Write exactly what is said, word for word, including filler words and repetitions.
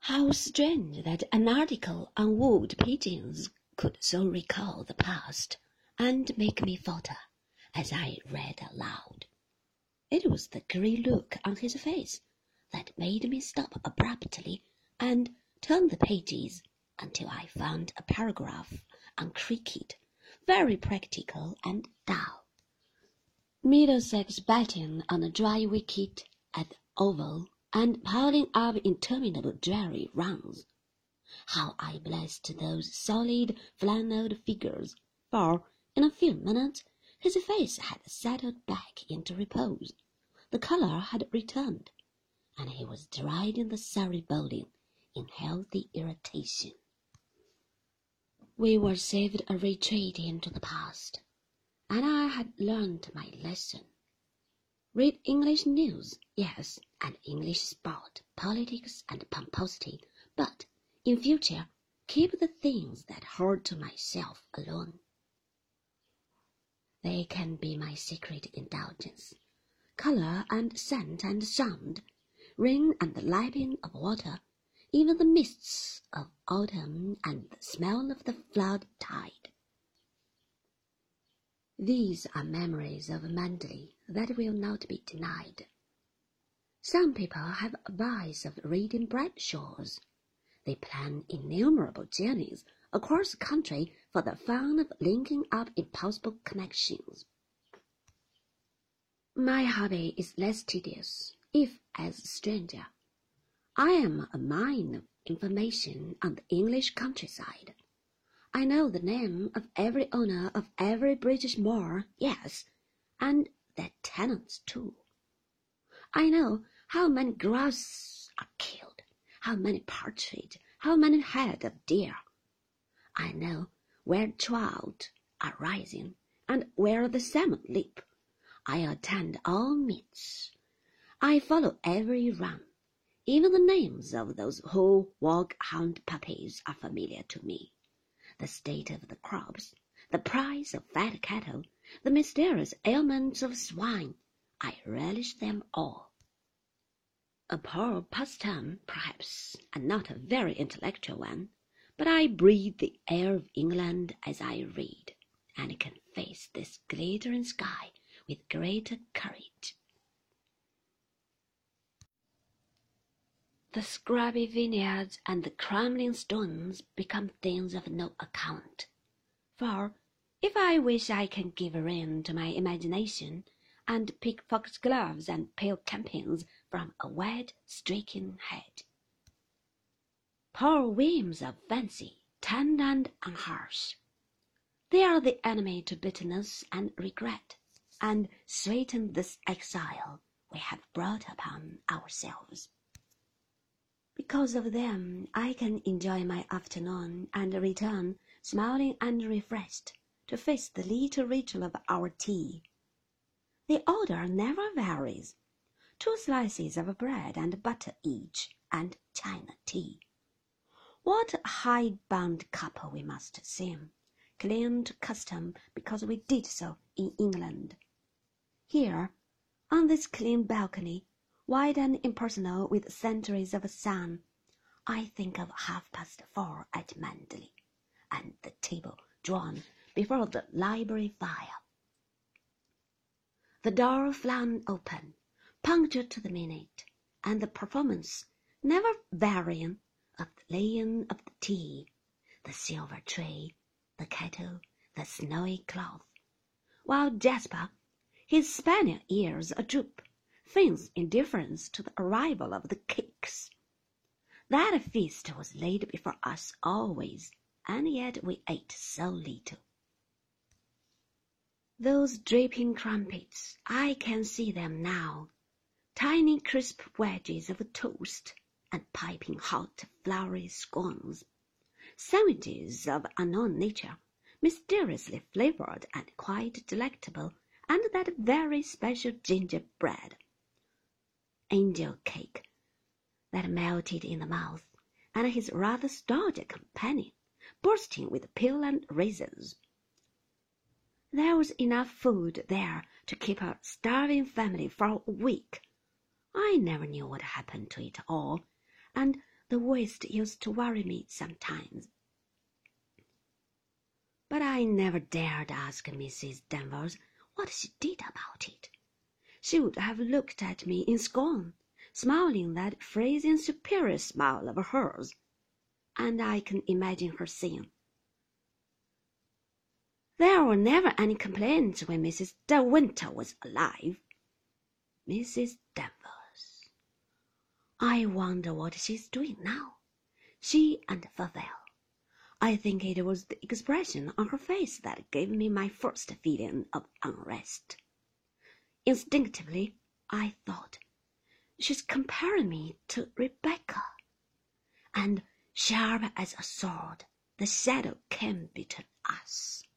How strange that an article on wood pigeons could so recall the past and make me falter as I read aloud. It was the grey look on his face that made me stop abruptly and turn the pages until I found a paragraph on cricket, very practical and dull. Middlesex batting on a dry wicket at the Oval and piling up interminable dreary runs. How I blessed those solid flannelled figures, for in a few minutes his face had settled back into repose, the colour had returned, and he was deriding the Surrey bowling in healthy irritation. We were saved a retreat into the past, and I had learned my lesson. Read English news, yes, and English sport, politics, and pomposity, but in future keep the things that hold to myself alone. They can be my secret indulgence. Colour and scent and sound, rain and the lapping of water, even the mists of autumn and the smell of the flood tide. These are memories of Manderley that will not be denied. Some people have a vice of reading Bradshaws. They plan innumerable journeys across the country for the fun of linking up impossible connections. My hobby is less tedious, if as a stranger. I am a mine of information on the English countryside. I know the name of every owner of every British moor, yes, and their tenants too. I know how many grouse are killed, how many partridge, how many head of deer. I know where trout are rising and where the salmon leap. I attend all meets. I follow every run. Even the names of those who walk hound puppies are familiar to me. The state of the crops, the price of fat cattle, the mysterious ailments of swine, I relish them all. A poor pastime, perhaps, and not a very intellectual one, but I breathe the air of England as I read, and can face this glittering sky with greater courage. The scrubby vineyards and the crumbling stones become things of no account, for if I wish I can give rein to my imagination and pick foxgloves and pale campions from a wet, streaking hedge. Poor whims of fancy, tender and unharsh. They are the enemy to bitterness and regret, and sweeten this exile we have brought upon ourselves. Because of them I can enjoy my afternoon and return, smiling and refreshed, to face the little ritual of our tea. The order never varies. Two slices of bread and butter each, and China tea. What a high-bound couple we must seem, clinging to custom because we did so in England. Here, on this clean balcony, wide and impersonal with centuries of sun, I think of half-past four at Manderley, and the table drawn before the library fire. The door flung open, punctual to the minute, and the performance, never varying, of the laying of the tea, the silver tray, the kettle, the snowy cloth, while Jasper, his spaniel ears adroop, feigns indifference to the arrival of the cakes. That feast was laid before us always, and yet we ate so little. Those dripping crumpets, I can see them now, tiny crisp wedges of toast, and piping hot floury scones, sandwiches of unknown nature, mysteriously flavoured and quite delectable, and that very special gingerbread, angel cake, that melted in the mouth, and his rather stodgy companion, bursting with peel and raisins. There was enough food there to keep a starving family for a week. I never knew what happened to it all, and The waist used to worry me sometimes. But I never dared ask Missus Danvers what she did about it. She would have looked at me in scorn, smiling that freezing superior smile of hers, and I can imagine her saying, "There were never any complaints when Missus De Winter was alive." Missus Danvers. I wonder what she's doing now. She and Favell. I think it was the expression on her face that gave me my first feeling of unrest. Instinctively, I thought, she's comparing me to Rebecca. And sharp as a sword, the shadow came between us.